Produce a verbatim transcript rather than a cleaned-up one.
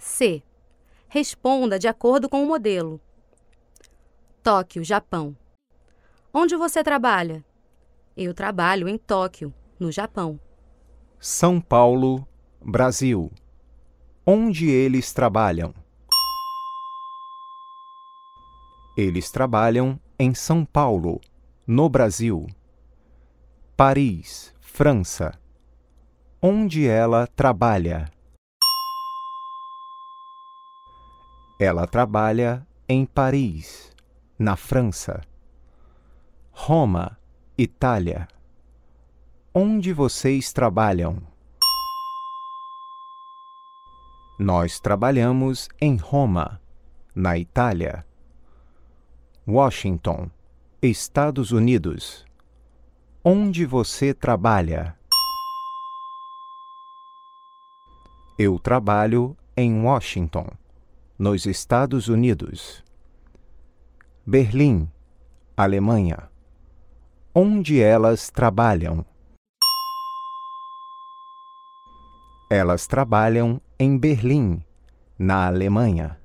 C. Responda de acordo com o modelo. Tóquio, Japão. Onde você trabalha? Eu trabalho em Tóquio, no Japão. São Paulo, Brasil. Onde eles trabalham? Eles trabalham em São Paulo, no Brasil. Paris, França. Onde ela trabalha? Ela trabalha em Paris, na França. Roma, Itália. Onde vocês trabalham? Nós trabalhamos em Roma, na Itália. Washington, Estados Unidos. Onde você trabalha? Eu trabalho em Washington, nos Estados Unidos. Berlim, Alemanha. Onde elas trabalham? Elas trabalham em Berlim, na Alemanha.